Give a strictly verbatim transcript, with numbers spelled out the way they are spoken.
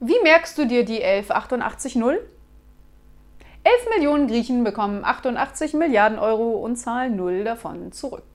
Wie merkst du dir die elf achtundachtzig null? elf Millionen Griechen bekommen achtundachtzig Milliarden Euro und zahlen null davon zurück.